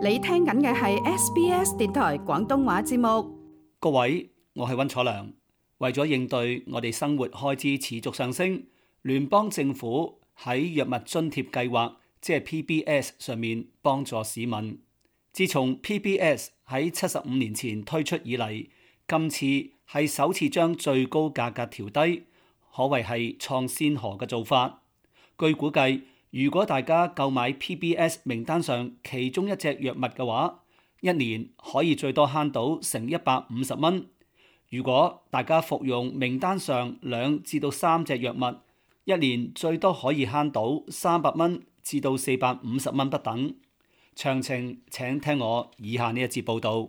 你聽緊嘅係 SBS 電台廣東話節目。 各位，我係溫楚良。為咗應對我哋生活開支持續上升，聯邦政府喺藥物津貼計劃，即係 PBS 上面幫助市民。自從 PBS 喺75年前推出以嚟，今次係首次將最高價格調低，可謂係創先河嘅做法。據估計，如果大家購買 PBS 名單上其中一隻藥物嘅話，一年可以最多慳到成150蚊。如果大家服用名單上2至到3隻藥物，一年最多可以慳到300蚊至到450蚊不等。詳情請聽我以下呢一節報導。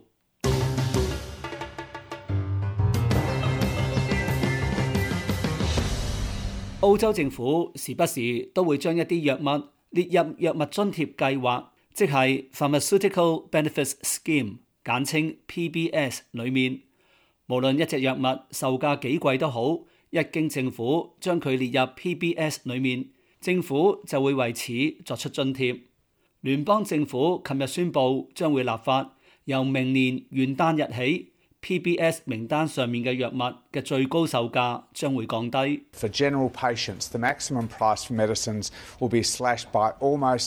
澳洲政府時不時都會將一啲藥物列入藥物津貼計劃，即係 Pharmaceutical Benefits Scheme， 簡稱 PBS 裏面。無論一隻藥物售價幾貴都好，一經政府將佢列入 PBS 裏面，政府就會為此作出津貼。聯邦政府琴日宣布將會立法，由明年元旦日起，PBS 名單上面嘅藥物嘅最高售價將會降低。 For general patients, the maximum price for medicines will be slashed by almost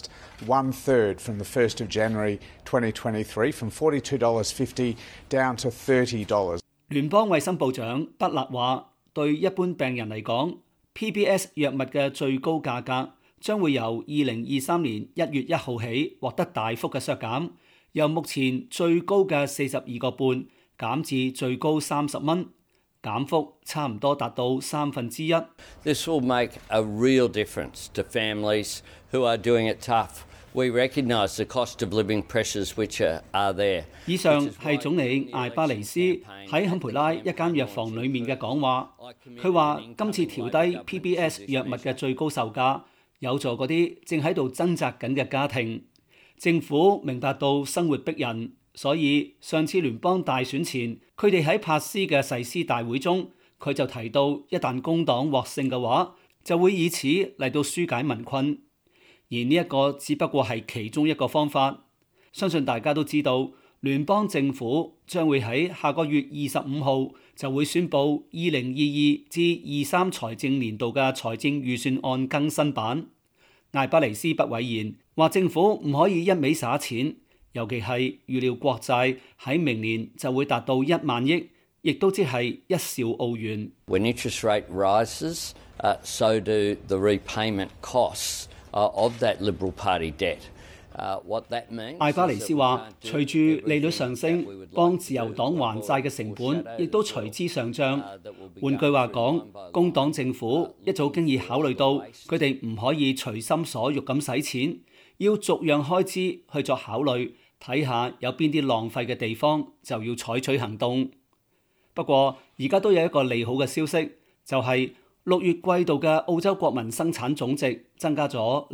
1/3 from the 1st of January 2023, from $42.50 down to $30. 聯邦衛生部長德勒話，對一般病人嚟講 ，PBS 藥物嘅最高價格將會由2023年1月1號起獲得大幅嘅削減，由目前最高嘅42.5減至最高30蚊，減幅差唔多達到1/3。 This will make a real difference to families who are doing it tough. We recognise the cost of living pressures which are there. 以上係總理艾巴尼斯喺坎培拉一間藥房裡面嘅講話。佢話今次調低 PBS 藥物嘅最高售價，有助嗰啲正喺度掙扎緊嘅家庭。政府明白到生活逼人。所以上次聯邦大選前，佢哋喺帕斯嘅誓師大會中，佢就提到一旦工黨獲勝嘅話，就會以此嚟到紓解民困。而呢一個只不過係其中一個方法。相信大家都知道，聯邦政府將會喺下個月25號就會宣布2022至23財政年度嘅財政預算案更新版。艾巴尼斯不諱言，話政府唔可以一味撒錢。尤其係預料國債喺明年就會達到1萬億，亦都即係1兆澳元。 When interest rate rises, so do the repayment costs of that Liberal Party debt. What that means？ 艾巴尼斯話，隨住利率上升，幫自由黨還債嘅成本亦都隨之上漲。換句話講，工黨政府一早經已考慮到佢哋唔可以隨心所欲咁使錢，要逐樣開支去作考慮。睇下有邊啲浪費嘅地方，就要採取行動。不過而家都有一個利好嘅消息，就係6月季度嘅澳洲國民生產總值增加咗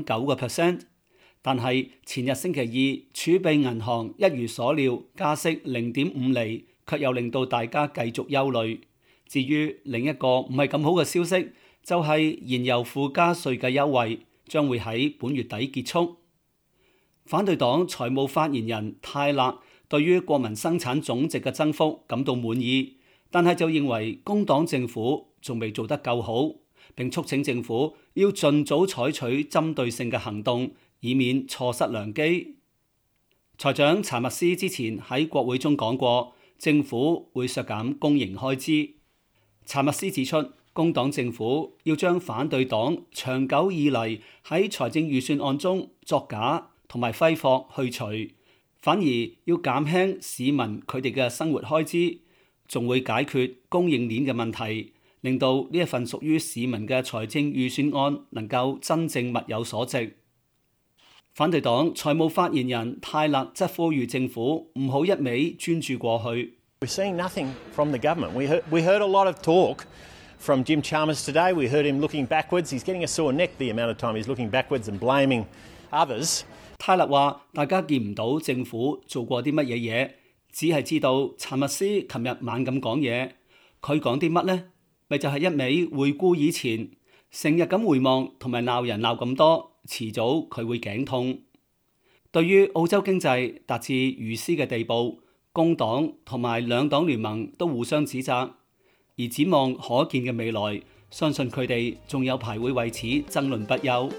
0.9%，但係前日星期二儲備銀行一如所料加息0.5厘，卻又令到大家繼續憂慮。至於另一個唔係咁好嘅消息，就係燃油附加稅嘅優惠將會喺本月底結束。反對黨財務發言人泰勒對於國民生產總值嘅增幅感到滿意，但係就認為工黨政府仲未做得夠好，並促請政府要盡早採取針對性嘅行動，以免錯失良機。財長查密斯之前喺國會中講過，政府會削減公營開支。查密斯指出，工黨政府要將反對黨長久以嚟喺財政預算案中作假同埋揮霍去除，反而要減輕市民佢哋嘅生活開支，仲會解決供應鏈嘅問題，令到呢一份屬於市民嘅財政預算案能夠真正物有所值。反對黨財務發言人泰勒則呼籲政府唔好一味專注過去。 We're seeing nothing from the government. We heard a lot of talk from Jim Chalmers today. We heard him looking backwards. He's getting a sore neck the amount of time he's looking backwards and blaming others. 泰勒話：大家見唔到政府做過啲乜嘢嘢，只係知道查密斯琴日猛咁講嘢。佢講啲乜呢？咪就係一味回顧以前，成日咁回望同埋鬧人鬧咁多，遲早佢會頸痛。 對於澳洲經濟達至如斯嘅地步，工黨同埋兩黨聯盟都互相指責，而展望可見嘅未來，相信佢哋仲有排會為此爭論不休。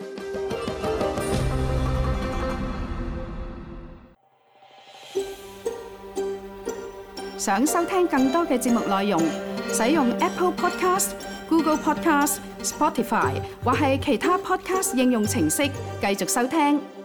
想收聽更多嘅節目內容，使用 Apple Podcast、Google Podcast、Spotify 或係其他 Podcast 應用程式繼續收聽。